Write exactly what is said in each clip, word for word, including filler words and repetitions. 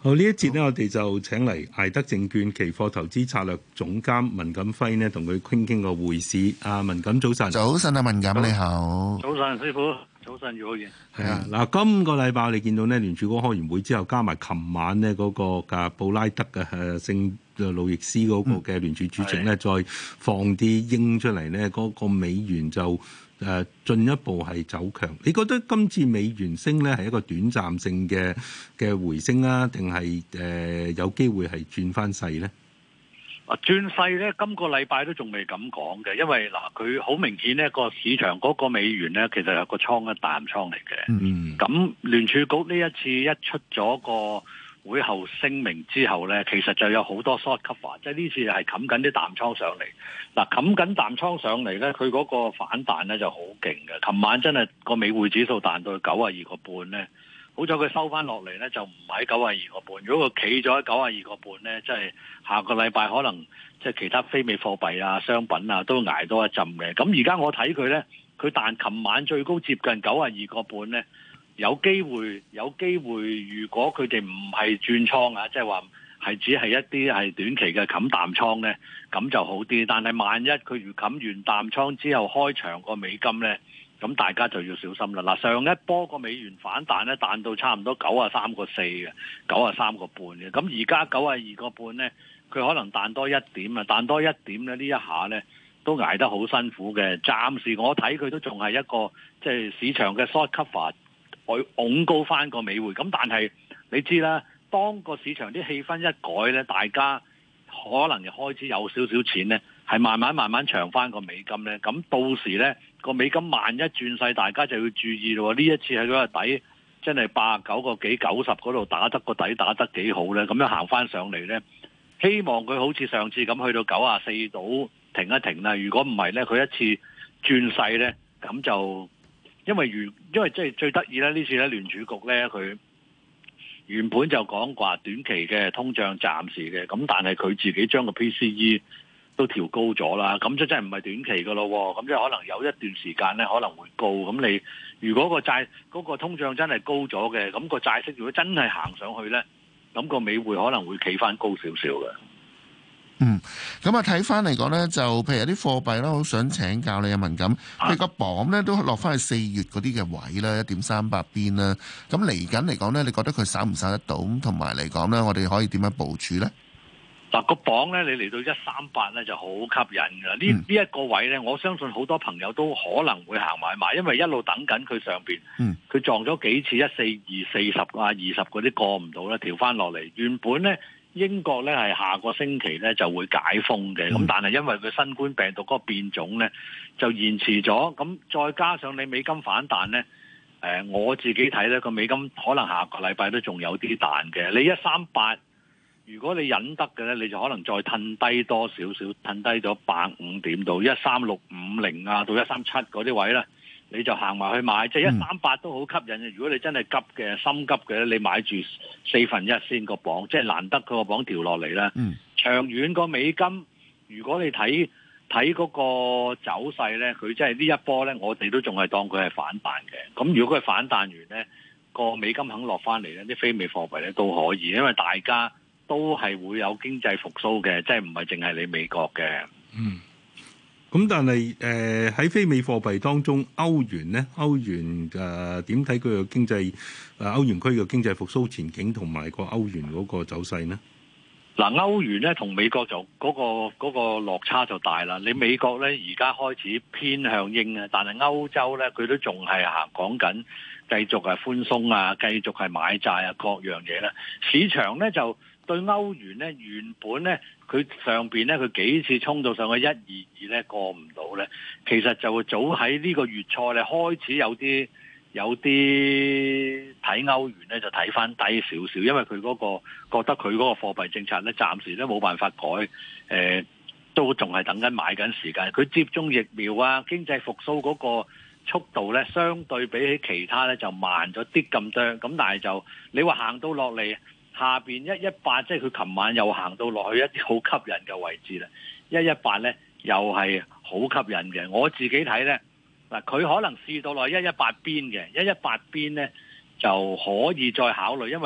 好，呢一節呢，我哋就請嚟艾德證券期貨投資策略總監文錦輝呢，同佢傾傾個匯市。啊，文錦早晨， 早晨啊，文錦你好， 早晨師傅，早晨姚浩然。 係啊，嗱，今個禮拜我哋見到呢聯儲局開完會之後，加埋琴晚呢嗰個嘅布拉德嘅誒聖路易斯嗰個嘅聯儲主席呢，嗯、再放啲鷹出嚟呢，嗰、嗰個美元就誒進一步係走強。你覺得今次美元升呢係一個短暫性嘅嘅回升啊，定係誒有機會係轉翻勢呢？ 啊，轉勢咧，今個禮拜都仲未咁講嘅，因為嗱，佢好明顯呢個市場嗰個美元咧，其實係個倉一淡倉嚟嘅。嗯，咁聯儲局呢一次一出咗個會後聲明之後咧，其實就有好多 short cover，即係呢次係冚緊啲淡倉上嚟。嗱，冚緊淡倉上嚟咧，佢嗰個反彈咧就好勁嘅。琴晚真係個美匯指數彈到九啊二個半咧。好彩佢收翻落嚟咧，就唔喺九啊二個半。如果佢企咗喺九啊二個半咧，即係下個禮拜可能即係其他非美貨幣啊、商品啊都捱多一陣嘅。咁而家我睇佢咧，佢但琴晚最高接近九啊二個半咧，有機會有機會。如果佢哋唔係轉倉啊，即係話係只係一啲係短期嘅冚淡倉咧，咁就好啲。但係萬一佢如冚完淡倉之後開長個美金咧，咁大家就要小心啦！嗱，上一波個美元反彈咧，彈到差唔多九啊三個四嘅，九啊三個半嘅。咁而家九啊二個半咧，佢可能彈多一點啊，彈多一點咧，呢一下咧都捱得好辛苦嘅。暫時我睇佢都仲係一個即係市場嘅 short cover，去拱高翻個美匯。咁但係你知啦，當個市場啲氣氛一改咧，大家可能就開始有少少錢咧，係慢慢慢慢長翻個美金咧。咁到時咧，個美金萬一轉勢，大家就要注意咯。呢一次喺嗰個底真係八十九個幾九十嗰度打得個底打得幾好咧，咁樣行翻上嚟咧，希望佢好似上次咁去到九啊四度停一停啦。如果唔係咧，佢一次轉勢咧，咁就因為如因為即係最得意咧，呢次咧聯儲局咧佢原本就講話短期嘅通脹暫時嘅，咁但係佢自己將個 P C E 都調高咗啦，咁即真係唔係短期噶咯，咁即係可能有一段時間咧可能會高。咁你如果個債嗰個通脹真係高咗嘅，咁個債息如果真係行上去咧，咁個美匯可能會企翻高少少嘅。 嗯，咁啊睇翻嚟講咧，就譬如有啲貨幣啦，好想請教你啊文錦，譬如個鎊咧都落翻去四月嗰啲嘅位啦，一點三八邊啦。咁嚟緊嚟講咧，你覺得佢守唔守得到？咁同埋嚟講咧，我哋可以點樣部署咧？ 嗱，個鎊咧，你嚟到一三八咧就好吸引㗎。呢呢一個位咧，我相信好多朋友都可能會行買買，因為一路等緊佢上邊，佢撞咗幾次一四二四十啊二十嗰啲過唔到咧，調翻落嚟。原本咧英國咧係下個星期咧就會解封嘅，咁、嗯、但係因為佢新冠病毒嗰個變種咧就延遲咗，咁再加上你美金反彈咧，誒、呃、我自己睇咧個美金可能下個禮拜都仲有啲彈嘅。你一三八。如果你忍得嘅咧，你就可能再褪低多少少，褪低咗百五點到一三六五零啊，到一三七嗰啲位咧，你就行埋去買，即係一三八都好吸引嘅。如果你真係急嘅、心急嘅咧，你買住四分一先個鎊，即係難得佢個鎊調落嚟啦。嗯、長遠個美金，如果你睇睇嗰個走勢咧，佢即係呢一波咧，我哋都仲係當佢係反彈嘅。咁如果佢反彈完咧，個美金肯落翻嚟咧，啲非美貨幣咧都可以，因為大家都係會有經濟復甦嘅，即係唔係淨係你美國嘅。 嗯，咁但係誒喺非美貨幣當中，歐元咧，歐元誒點睇佢嘅經濟誒歐元區嘅經濟復甦前景同埋個歐元嗰個走勢呢？ 嗱，歐元咧同美國就嗰、嗰個嗰個落差就大啦。你美國咧而家開始偏向鷹啊，但係歐洲咧佢都仲係行講緊繼續係寬鬆啊，繼續係買債啊，各樣嘢啦。市場咧就對歐元咧原本咧佢上邊咧佢幾次衝到上去一二二咧過唔到咧，其實就會早喺呢個月初咧開始有啲有啲睇歐元咧就睇翻低少少，因為佢嗰、嗰個覺得佢嗰個貨幣政策咧暫時都冇辦法改，誒、呃、都仲係等緊買緊時間。佢接種疫苗啊，經濟復甦嗰個速度咧相對比起其他咧就慢咗啲咁多，咁但係就你話行到落嚟。下邊一一八，即係佢琴晚又行到落去一啲好吸引嘅位置啦。一一八咧又係好吸引嘅。我自己睇咧，嗱佢可能試到落一一八邊嘅，一一八邊咧就可以再考慮，因為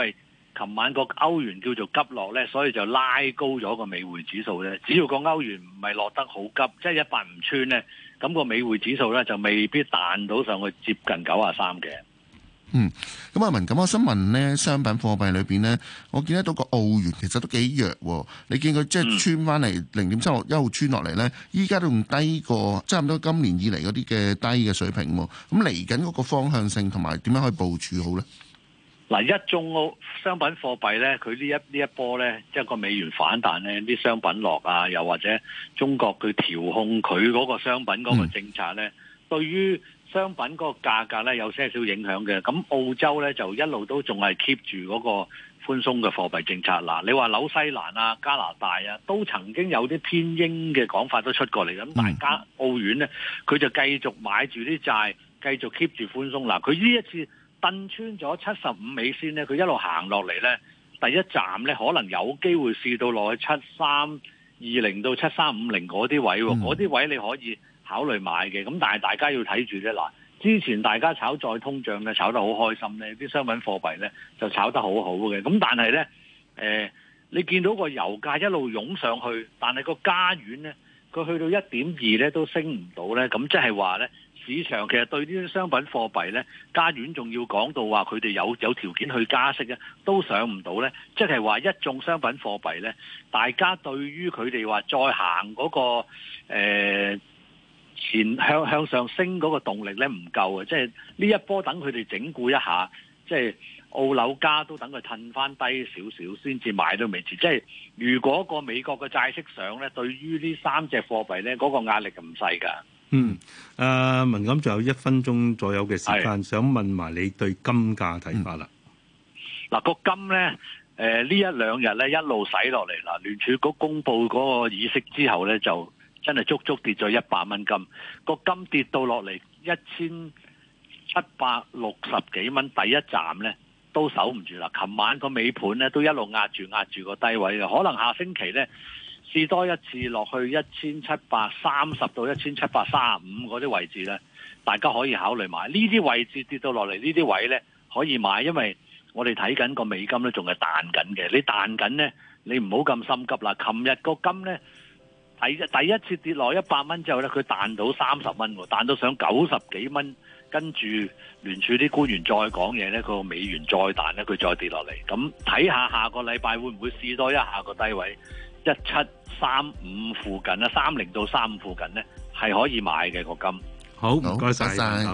琴晚個歐元叫做急落咧，所以就拉高咗個美匯指數咧。只要個歐元唔係落得好急，即係一百唔穿咧，咁個美匯指數咧就未必彈到上去接近九啊三嘅。 嗯，咁阿文，咁我想問呢，商品貨幣裏邊呢，我見得到個澳元其實都幾弱喎。你見佢即係穿翻嚟零點七六一路穿落嚟呢，依家都仲低過差唔多今年以嚟嗰啲嘅低嘅水平喎。咁嚟緊嗰個方向性同埋點樣可以部署好呢？ 嗱，一中澳商品貨幣咧，佢呢一呢一波咧，即係個美元反彈咧，啲商品落啊，又或者中國佢調控佢嗰個商品嗰個政策咧，嗯、對於商品嗰個價格咧有些少影響嘅。咁澳洲咧就一路都仲係 keep 住嗰個寬鬆嘅貨幣政策。嗱，你話紐西蘭啊、加拿大啊，都曾經有啲偏鷹嘅講法都出過嚟。咁大家澳元咧，佢就繼續買住啲債，繼續 keep 住寬鬆。嗱，佢呢一次掟穿咗七十五美仙咧，佢一路行落嚟咧，第一站咧可能有機會試到落去七三二零到七三五零嗰啲位喎，嗰啲、嗯、位你可以考慮買嘅。咁但係大家要睇住咧，嗱，之前大家炒再通脹咧，炒得好開心咧，啲商品貨幣咧就炒得好好嘅。咁但係咧，誒、呃，你見到個油價一路湧上去，但係個加元咧，佢去到一點二咧都升唔到咧，咁即係話咧。市場其實對呢啲商品貨幣咧，加元仲要講到話佢哋有有條件去加息咧，都上唔到咧。即係話一眾商品貨幣咧，大家對於佢哋話再行嗰、那個誒、呃、前向向上升嗰個動力咧唔夠啊！即係呢一波等佢哋整固一下，即係澳紐加都等佢褪翻低少少先至買都未遲。即係如果個美國嘅債息上咧，對於呢三隻貨幣咧，嗰、那個壓力唔細㗎。 嗯，誒、呃、文錦仲有一分鐘左右嘅時間， 是想問埋你對金價睇法啦。 嗱、嗯，個金咧，誒、呃、呢一兩日咧一路洗落嚟啦。聯儲局公布嗰個議息之後咧，就真係足足跌咗一百蚊金。個金跌到落嚟一千七百六十幾蚊，第一站咧都守唔住啦。琴晚個尾盤咧都一路壓住壓住個低位嘅，可能下星期咧。試多一次落去一千七百三十到一千七百三十五嗰啲位置咧，大家可以考慮買。呢啲位置跌到落嚟，呢啲位咧可以買，因為我哋睇緊個美金咧仲係彈緊嘅。你彈緊咧，你唔好咁心急啦。琴日個金咧第第一次跌落一百蚊之後咧，佢彈到三十蚊喎，彈到上九十幾蚊，跟住聯儲啲官員再講嘢咧，個美元再彈咧，佢再跌落嚟。咁睇下下個禮拜會唔會試多一下個低位？一七三五附近啦，三零到三五附近咧係可以買嘅個金。 好，唔該晒。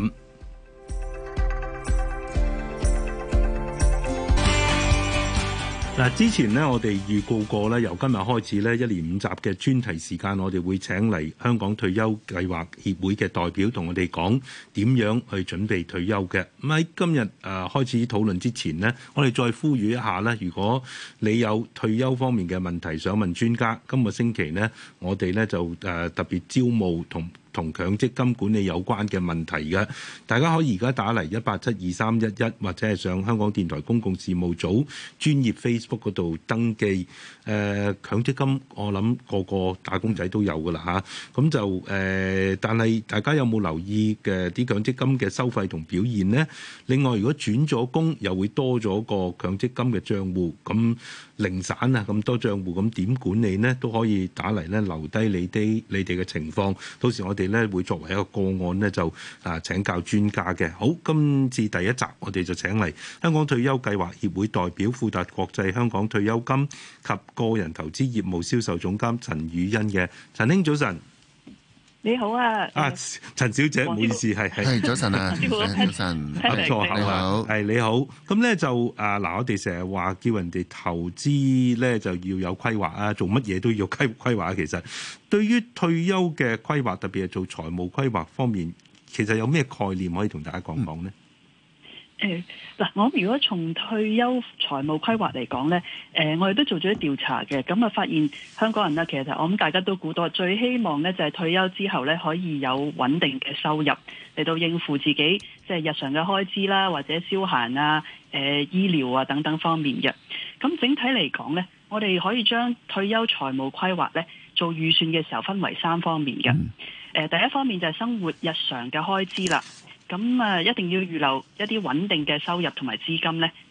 嗱，之前呢，我哋預告過咧，由今日開始咧，一連五集嘅專題時間，我哋會請嚟香港退休計劃協會嘅代表同我哋講點樣去準備退休嘅。咁喺今日誒開始討論之前呢，我哋再呼籲一下咧，如果你有退休方面嘅問題想問專家，今個星期呢，我哋咧就誒特別招募同同強積金管理有關嘅問題嘅，大家可以而家打嚟一八七二三一一，或者係上香港電台公共事務組專業 Facebook 嗰度登記。誒、呃、強積金，我諗個個打工仔都有㗎啦嚇，咁就誒、呃，但係大家有冇留意嘅啲強積金嘅收費同表現呢？另外，如果轉咗工，又會多咗個強積金嘅帳戶，咁零散啊咁多帳戶，咁點管理呢？都可以打嚟咧，留低你啲你哋嘅情況，到時我哋咧會作為一個個案咧，就啊請教專家嘅。好，今次第一集我哋就請嚟香港退休計劃協會代表富達國際香港退休金及個人投資業務銷售總監陳宇昕嘅。陳兄早晨。 你好啊！ 啊，陳小姐，唔好意思，係係早晨啊，早晨， 合錯口啊，係你好。咁咧就啊嗱，我哋成日話叫人哋投資咧就要有規劃啊，做乜嘢都要規規劃。其實對於退休嘅規劃，特別係做財務規劃方面，其實有咩概念可以同大家講講呢？ 誒嗱、呃，我如果從退休財務規劃嚟講咧，誒、呃，我哋都做咗啲調查嘅，咁啊發現香港人咧，其實我諗大家都估到，最希望咧就係、是、退休之後咧可以有穩定嘅收入嚟到應付自己即係、就是、日常嘅開支啦，或者消閒啊、誒、呃、醫療啊等等方面嘅。咁整體嚟講咧，我哋可以將退休財務規劃咧做預算嘅時候分為三方面嘅。誒、呃，第一方面就係生活日常嘅開支啦。咁啊，一定要預留一啲穩定嘅收入同埋資金咧，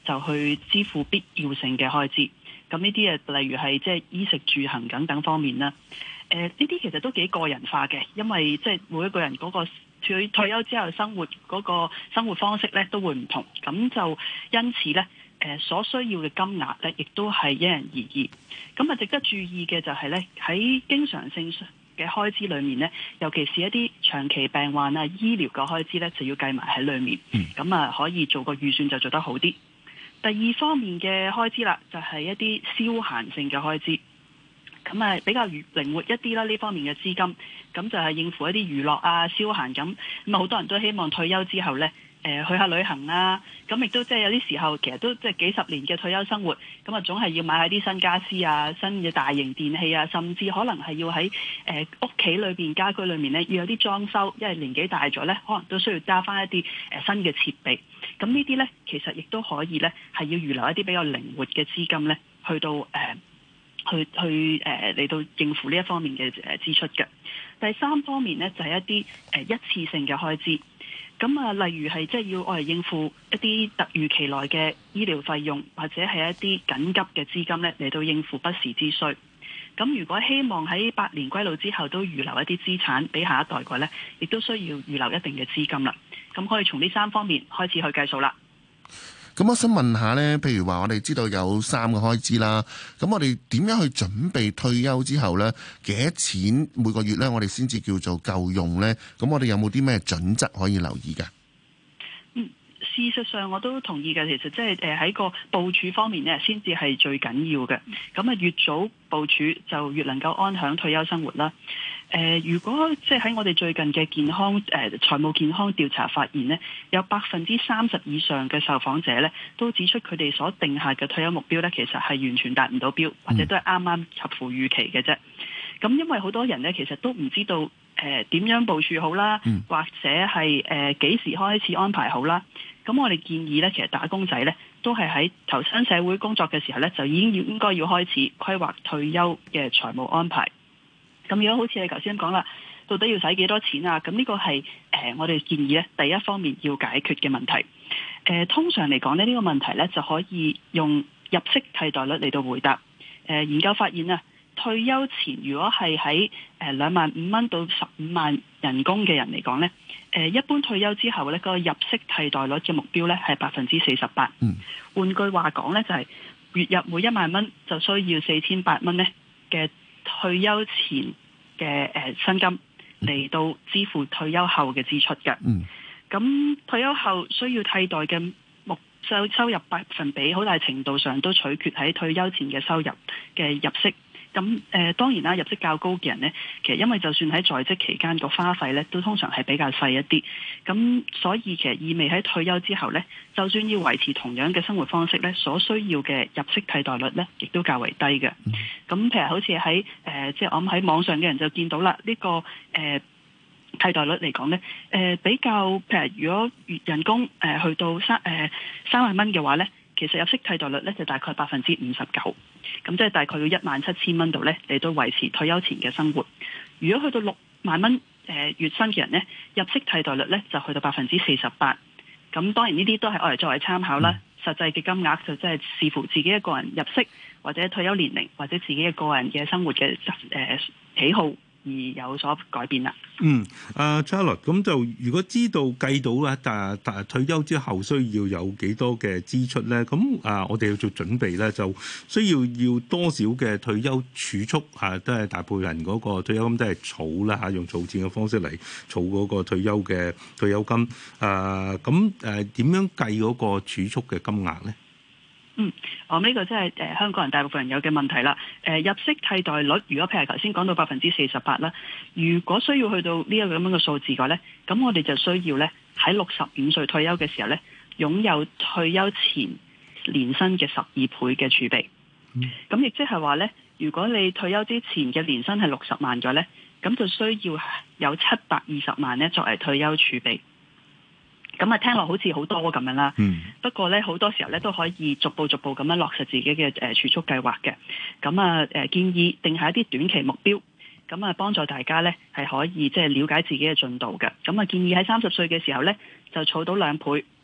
就去支付必要性嘅開支。咁呢啲誒，例如係即係衣食住行等等方面啦。誒呢啲其實都幾個人化嘅，因為即係每一個人嗰個退退休之後生活嗰個生活方式咧都會唔同，咁就因此咧誒所需要嘅金額咧，亦都係因人而異。咁啊，值得注意嘅就係咧喺經常性嘅開支裏面咧，尤其是一啲長期病患啊、醫療嘅開支咧，就要計埋喺裏面。咁啊，可以做個預算就做得好啲。第二方面嘅開支啦，就係一啲消閒性嘅開支。咁啊，比較靈活一啲啦，呢方面嘅資金，咁就係應付一啲娛樂啊、消閒咁。咁啊，好多人都希望退休之後呢，誒、呃、去下旅行啊。咁亦都即係有啲時候，其實都即係幾十年嘅退休生活，咁啊，總係要買下啲新家私啊、新嘅大型電器啊，甚至可能係要喺誒屋企裏邊家居裏面呢，要有啲裝修，因為年紀大咗呢，可能都需要加翻一啲誒新嘅設備。咁呢啲呢，其實亦都可以呢，係要預留一啲比較靈活嘅資金呢，去到誒。呃去去誒嚟、呃、到應付呢一方面嘅誒支出嘅。第三方面呢，就係、是、一啲誒、呃、一次性嘅開支，咁啊例如係即係要我嚟應付一啲突如其來嘅醫療費用，或者係一啲緊急嘅資金呢，嚟到應付不時之需。咁如果希望喺百年歸老之後都預留一啲資產俾下一代嘅呢，亦都需要預留一定嘅資金啦。咁可以從呢三方面開始去計數啦。 咁我想問下呢，譬如話我哋知道有三個開支啦，咁我哋點樣去準備退休之後呢？幾多錢每個月呢？我哋先至叫做夠用呢？咁我哋有冇啲咩準則可以留意㗎？ 嗯，事實上我都同意嘅。其實即係誒喺個部署方面呢，先至係最緊要嘅。咁啊，越早部署就越能夠安享退休生活啦。誒、呃，如果即係喺我哋最近嘅健康誒、呃、財務健康調查發現呢，有百分之三十以上嘅受訪者呢都指出佢哋所定下嘅退休目標呢，其實係完全達唔到標，或者都係啱啱合乎預期嘅啫。咁因為好多人呢，其實都唔知道誒點、呃、樣部署好啦，或者係誒幾時開始安排好啦。咁我哋建議呢，其實打工仔呢都係喺投身社會工作嘅時候呢，就已經要應該要開始規劃退休嘅財務安排。咁如果好似你頭先講啦，到底要使幾多錢啊？咁呢個係誒、呃、我哋建議咧，第一方面要解決嘅問題。誒、呃、通常嚟講咧，呢、這個問題咧就可以用入息替代率嚟到回答。誒、呃、研究發現啊，退休前如果係喺誒兩萬五蚊到十五萬人工嘅人嚟講咧，誒、呃、一般退休之後咧，個入息替代率嘅目標咧係百分之四十八。嗯，換句話講咧，就係、是、月入每一萬蚊就需要四千八蚊咧嘅退休前嘅誒薪金嚟到支付退休後嘅支出嘅。嗯，咁退休後需要替代嘅目收收入百分比，好大程度上都取決喺退休前嘅收入嘅入息。咁誒、呃、當然啦，入息較高嘅人呢，其實因為就算喺在，在職期間個花費呢，都通常係比較細一啲。咁所以其實意味喺退休之後呢，就算要維持同樣嘅生活方式呢，所需要嘅入息替代率呢，亦都較為低嘅。咁譬如好似喺誒，即係我諗喺網上嘅人就見到啦，呢、這個誒、呃、替代率嚟講呢，誒、呃、比較譬如如果月人工誒、呃、去到三誒、呃、三萬蚊嘅話呢，其實入息替代率呢，就大概百分之五十九。咁即係大概要一萬七千蚊度咧，嚟到維持退休前嘅生活。如果去到六萬蚊誒月薪嘅人咧，入息替代率咧就去到百分之四十八。咁當然呢啲都係我哋作為參考啦，實際嘅金額就即係視乎自己一個人入息或者退休年齡或者自己一個人嘅生活嘅誒、呃、喜好而有所改變啦。 嗯，阿 Charlotte，咁就如果知道計到啦，但但退休之後需要有幾多嘅支出咧？咁啊，我哋要做準備咧，就需要要多少嘅退休儲蓄啊？都係大部分人嗰個退休金都係儲啦嚇，用儲錢嘅方式嚟儲嗰個退休嘅退休金。啊，咁誒點樣計嗰個儲蓄嘅金額咧？ 嗯，我、哦、呢、這個真係誒香港人大部分人有嘅問題啦。誒、呃、入息替代率，如果譬如頭先講到百分之四十八啦，如果需要去到呢一個咁樣嘅數字嘅話咧，咁我哋就需要咧喺六十五歲退休嘅時候咧，擁有退休前年薪嘅十二倍嘅儲備。咁亦即係話咧，如果你退休之前嘅年薪係六十萬嘅咧，咁就需要有七百二十萬咧作為退休儲備。咁啊，聽落好似好多咁樣啦。嗯。不過咧，好多時候咧都可以逐步逐步咁樣落實自己嘅誒儲蓄計劃嘅。咁啊誒，建議定下一啲短期目標，咁啊幫助大家咧係可以即係了解自己嘅進度嘅。咁啊，建議喺三十歲嘅時候咧就儲到兩倍，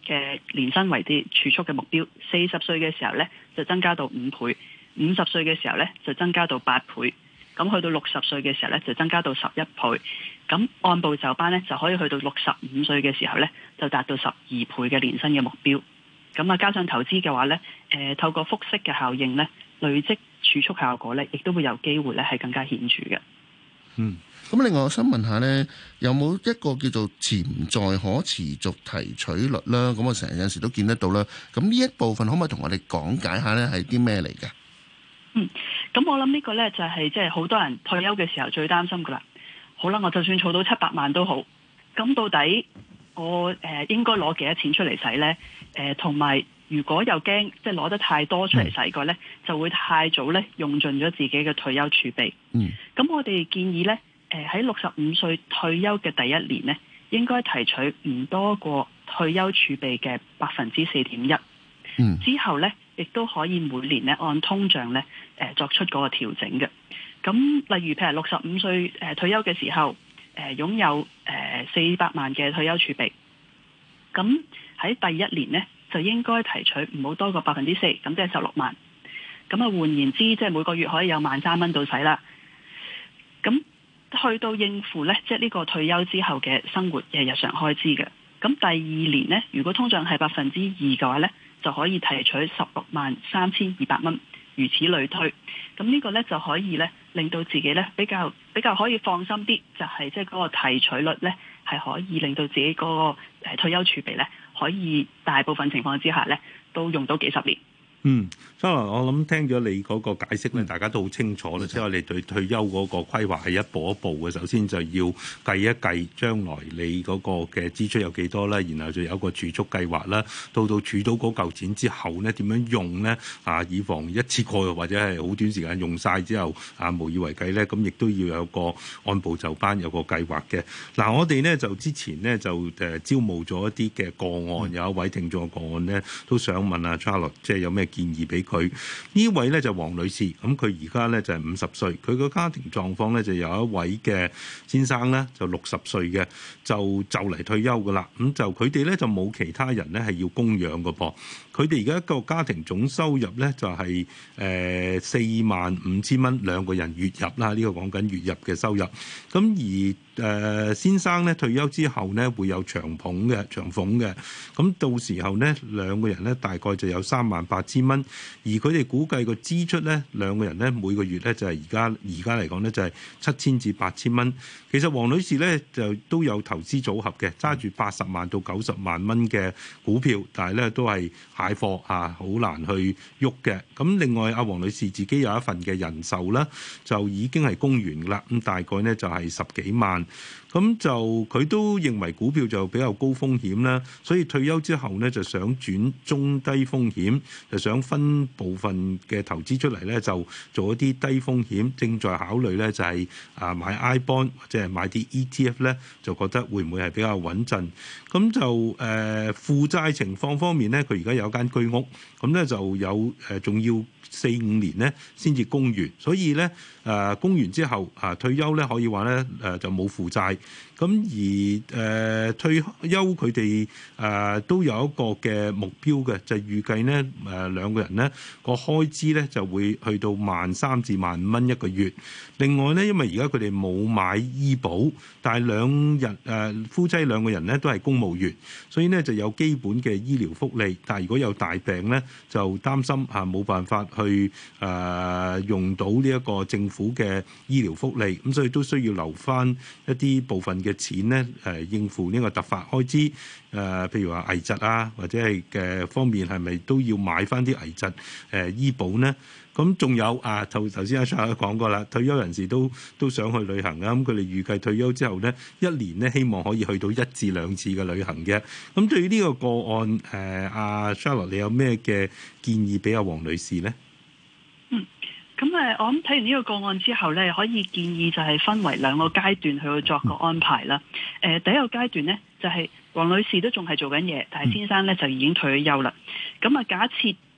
嘅年薪為啲儲蓄嘅目標，四十歲嘅時候咧就增加到五倍，五十歲嘅時候咧就增加到八倍，咁去到六十歲嘅時候咧就增加到十一倍，咁按部就班咧就可以去到六十五歲嘅時候咧就達到十二倍嘅年薪嘅目標。咁啊加上投資嘅話咧，誒、呃、透過複息嘅效應咧，累積儲蓄效果咧，亦都會有機會咧係更加顯著嘅。 嗯。咁另外我想問下呢，有冇一個叫做潛在可持續提取率啦？咁我成日有時都見得到啦。咁呢一部分可唔可以同我哋講解下呢？係啲咩嚟嘅？ 嗯，咁我諗呢個呢，就係即係好多人退休嘅時候最擔心噶啦。好啦，我就算儲到七百萬都好，咁到底我誒、呃、應該攞幾多錢出嚟使呢？誒同埋如果又驚即係攞得太多出嚟使嘅呢，就會太早呢用盡咗自己嘅退休儲備。 嗯， 咁我哋建議呢。誒喺六十五歲退休嘅第一年呢，應該提取唔多過退休儲備嘅百分之四點一。 嗯， 之後呢，亦都可以每年呢按通脹呢誒作出嗰個調整嘅。咁例如譬如六十五歲誒退休嘅時候，誒擁有誒四百萬嘅退休儲備，咁喺第一年呢，就應該提取唔好多過百分之四，咁即係十六萬。咁啊換言之，即係每個月可以有萬三蚊到使啦。咁去到應付咧，即係呢個退休之後嘅生活嘅日常開支嘅。咁第二年呢，如果通脹係百分之二嘅話呢，就可以提取十六萬三千二百蚊，如此類推。咁呢個呢，就可以呢令到自己呢比較比較可以放心啲，就係即係嗰個提取率呢，係可以令到自己嗰個誒退休儲備呢，可以大部分情況之下呢，都用到幾十年。 嗯，所以我諗聽咗你嗰個解釋咧，大家都好清楚啦。即係我哋對退休嗰個規劃係一步一步嘅。首先就要計一計將來你嗰個嘅支出有幾多啦，然後就有個儲蓄計劃啦。到到儲到嗰嚿錢之後咧，點樣用咧？啊，以防一次過或者係好短時間用晒之後啊，無以為繼咧。咁亦都要有個按部就班，有個計劃嘅。嗱、啊，我哋咧就之前咧就誒招募咗一啲嘅個案，有一位聽眾嘅個案咧，都想問阿 Charlotte，即係有咩建議俾佢？呢位咧就黃女士，咁佢而家咧就係五十歲，佢個家庭狀況咧就有一位嘅先生咧就六十歲嘅，就就嚟退休噶啦。咁就佢哋咧就冇其他人咧係要供養噶噃。佢哋而家一個家庭總收入咧就係誒四萬五千蚊兩個人月入啦，呢、這個講緊月入嘅收入。咁而誒、呃、先生咧退休之後咧會有長俸嘅長俸嘅，咁到時候咧兩個人咧大概就有三萬八千蚊，而佢哋估計個支出咧兩個人咧每個月咧就係而家而家嚟講咧就係七千至八千蚊。其實黃女士咧就都有投資組合嘅，揸住八十萬到九十萬蚊嘅股票，但係咧都係蟹貨啊，好難去喐嘅。咁另外阿黃女士自己有一份嘅人壽啦，就已經係供完㗎啦，咁大概咧就係十幾萬。咁就佢都認為股票就比較高風險啦，所以退休之後呢，就想轉中低風險，就想分部分嘅投資出嚟咧，就做一啲低風險。正在考慮咧就係啊買 I bond 或者係買啲 E T F 咧，就覺得會唔會係比較穩陣？咁就誒、呃、負債情況方面咧，佢而家有間居屋，咁咧就有誒仲要四五年咧先至供完，所以咧誒、呃、供完之後啊退休咧可以話咧誒就冇負債。咁而誒、呃、退休佢哋誒都有一個嘅目標嘅，就係、預計呢誒、呃、兩個人呢個開支咧就會去到萬三至萬五蚊一個月。另外咧，因為而家佢哋冇買醫保，但係兩人誒、呃、夫妻兩個人咧都係公務員，所以呢就有基本嘅醫療福利。但係如果有大病咧，就擔心嚇冇辦法去誒、呃、用到呢一個政府嘅醫療福利，咁所以都需要留翻一啲部分嘅錢咧，誒、呃、應付呢個突發開支，誒、呃、譬如話危疾啊，或者係嘅方面係咪都要買翻啲危疾誒、呃、醫保呢？咁仲有啊，頭頭先阿 Charles 講過啦，退休人士都都想去旅行啊，咁佢哋預計退休之後呢，一年呢希望可以去到一至兩次嘅旅行嘅。咁對於呢個個案，誒、呃、阿 Charles 你有咩嘅建議俾阿黃女士呢？ 嗯。咁誒，我諗睇完呢個個案之後咧，可以建議就係分為兩個階段去作個安排啦。誒，第一個階段咧，就係黃女士都仲係做緊嘢，但係先生咧就已經退咗休啦。咁啊，假設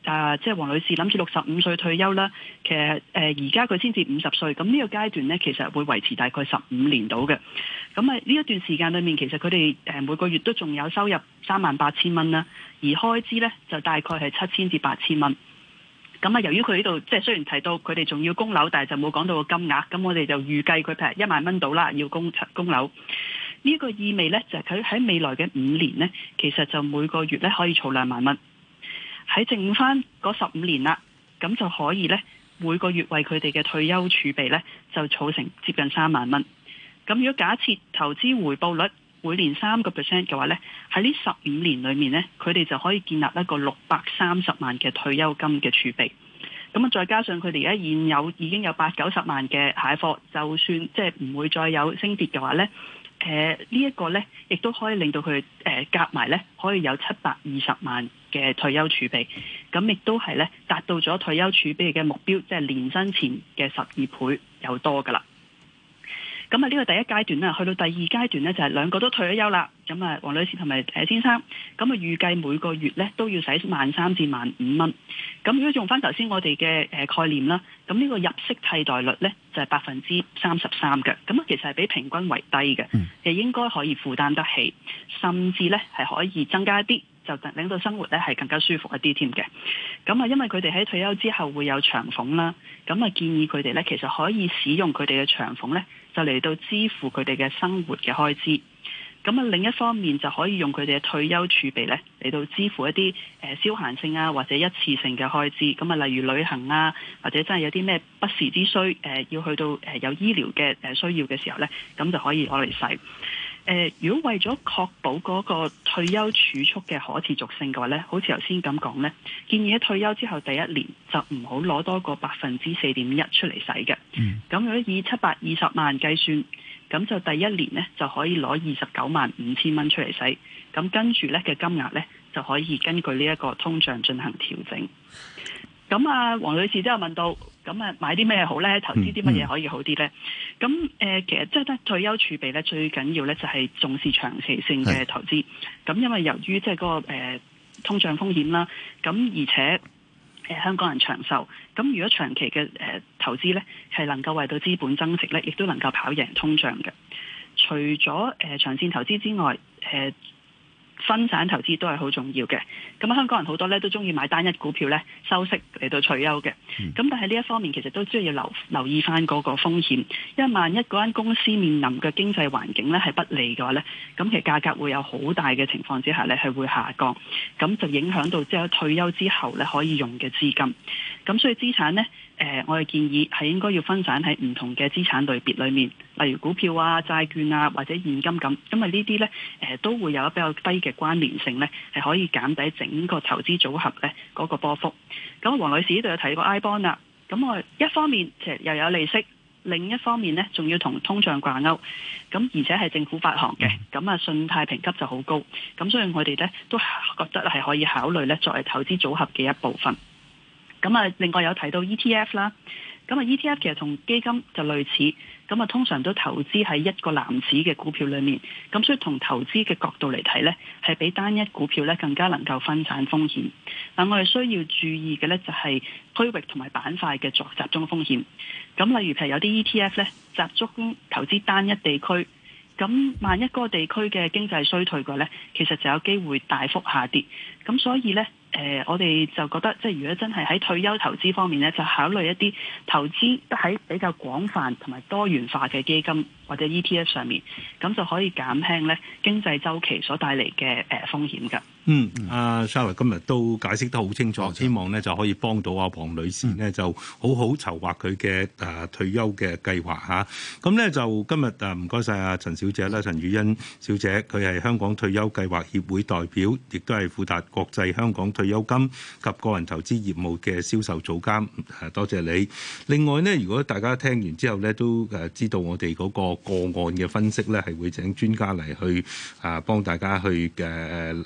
啊，即係黃女士諗住六十五歲退休啦。其實誒而家佢先至五十歲，咁呢個階段咧，其實會維持大概十五年到嘅。咁啊呢一段時間裏面，其實佢哋誒每個月都仲有收入三萬八千蚊啦，而開支咧就大概係七千至八千蚊。咁啊，由於佢呢度即係雖然提到佢哋仲要供樓，但係就冇講到個金額，咁我哋就預計佢譬如一萬蚊到啦，要供供樓。呢、這個意味呢，就係佢喺未來嘅五年呢，其實就每個月咧可以儲兩萬蚊。喺剩翻嗰十五年啦，咁就可以呢，每個月為佢哋嘅退休儲備呢，就儲成接近三萬蚊。咁如果假設投資回報率每年三個 percent 嘅話呢，喺呢十五年裏面呢，佢哋就可以建立一個六百三十萬嘅退休金嘅儲備。咁啊，再加上佢哋而家現有已經有八九十萬嘅蟹貨，就算即係唔會再有升跌嘅話呢，誒呢一個呢，亦都可以令到佢誒夾埋呢，可以有七百二十萬嘅退休儲備。咁亦都係呢，達到咗退休儲備嘅目標，即係年薪前嘅十二倍有多噶啦。咁啊，呢個第一階段啦，去到第二階段呢，就係兩個都退咗休啦。咁啊，黃女士同埋誒先生，咁啊預計每個月呢都要使萬三至萬五蚊。咁如果用翻頭先我哋嘅誒概念啦，咁呢個入息替代率呢，就係百分之三十三嘅。咁啊，其實係比平均為低嘅，亦應該可以負擔得起，甚至呢係可以增加一啲，就令到生活咧係更加舒服一啲添嘅。咁啊，因為佢哋喺退休之後會有長俸啦，咁啊建議佢哋咧其實可以使用佢哋嘅長俸咧，就嚟到支付佢哋嘅生活嘅開支。咁啊另一方面就可以用佢哋嘅退休儲備咧嚟到支付一啲誒消閒性啊或者一次性嘅開支。咁啊例如旅行啊，或者真係有啲咩不時之需誒、呃、要去到誒有醫療嘅誒需要嘅時候咧，咁就可以攞嚟使。誒、呃，如果為咗確保嗰個退休儲蓄嘅可持續性嘅話咧，好似頭先咁講咧，建議喺退休之後第一年就唔好攞多個百分之四點一出嚟使嘅。咁、嗯、如果以七百二十萬計算，咁就第一年咧就可以攞二十九萬五千蚊出嚟使。咁跟住咧嘅金額咧就可以根據呢一個通脹進行調整。咁啊，黃女士都有問到，咁啊買啲咩好咧？投資啲乜嘢可以好啲咧？咁誒、呃，其實即係得退休儲備咧，最緊要咧就係重視長期性嘅投資。咁因為由於即係嗰個、呃、通脹風險啦，咁而且誒、呃、香港人長壽，咁如果長期嘅誒、呃、投資咧係能夠為到資本增值咧，亦都能夠跑贏通脹嘅。除咗誒、呃、長線投資之外，誒、呃分散投資都係好重要嘅，咁香港人好多咧都中意買單一股票咧收息嚟到退休嘅，咁、嗯、但係呢一方面其實都需要留留意翻嗰個風險，因為萬一嗰間公司面臨嘅經濟環境咧係不利嘅話咧，咁其實價格會有好大嘅情況之下咧係會下降，咁就影響到即係退休之後咧可以用嘅資金，咁所以資產咧。誒、呃，我哋建議係應該要分散喺唔同嘅資產類別裏面，例如股票啊、債券啊或者現金咁，因為呢啲呢誒、呃、都會有比較低嘅關聯性呢，係可以減低整個投資組合呢嗰、那個波幅。咁黃女士呢度有提過 I bond 啦，咁我一方面其實又有利息，另一方面呢仲要同通脹掛鈎，咁而且係政府發行嘅，咁啊信貸評級就好高，咁所以我哋呢都覺得係可以考慮呢作為投資組合嘅一部分。咁啊，另外有提到 E T F 啦，咁啊 E T F 其實同基金就類似，咁啊通常都投資喺一個籃子嘅股票裏面，咁所以從投資嘅角度嚟睇呢，係比單一股票呢更加能夠分散風險。但我哋需要注意嘅呢，就係區域同埋板塊嘅作集中風險。咁例如譬如有啲 E T F 呢，集中投資單一地區，咁萬一嗰個地區嘅經濟衰退嘅話呢，其實就有機會大幅下跌。咁所以呢。誒、呃，我哋就覺得，即係如果真係喺退休投資方面咧，就考慮一啲投資得喺比較廣泛同埋多元化嘅基金或者 E T F 上面，咁就可以減輕咧經濟周期所帶嚟嘅誒風險㗎。 嗯，阿 Charlotte 今日都解釋得好清楚，嗯、希望咧就可以幫到阿黃女士呢、嗯、就好好籌劃佢嘅誒退休嘅計劃嚇。咁咧就今日誒唔該晒阿陳小姐啦，陳宇欣小姐，佢係香港退休計劃協會代表，亦都係富達國際香港退休金及個人投資業務嘅銷售總監。誒多謝你。另外呢，如果大家聽完之後咧都誒知道我哋嗰個個案嘅分析咧，係會請專家嚟去誒幫大家去嘅誒解。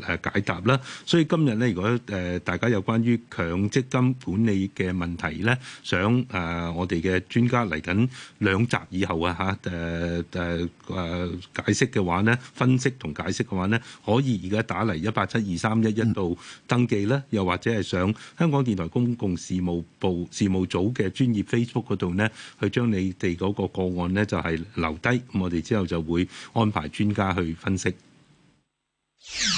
答啦。所以今日咧，如果誒、呃、大家有關於強積金管理嘅問題咧，想誒、呃、我哋嘅專家嚟緊兩集以後啊嚇誒誒誒解釋嘅話咧，分析同解釋嘅話咧，可以而家打嚟一八七二三一一度登記啦，又或者係上香港電台公共事務部事務組嘅專業 Facebook 嗰度咧，去將你哋嗰個個案咧就係留低，咁我哋之後就會安排專家去分析。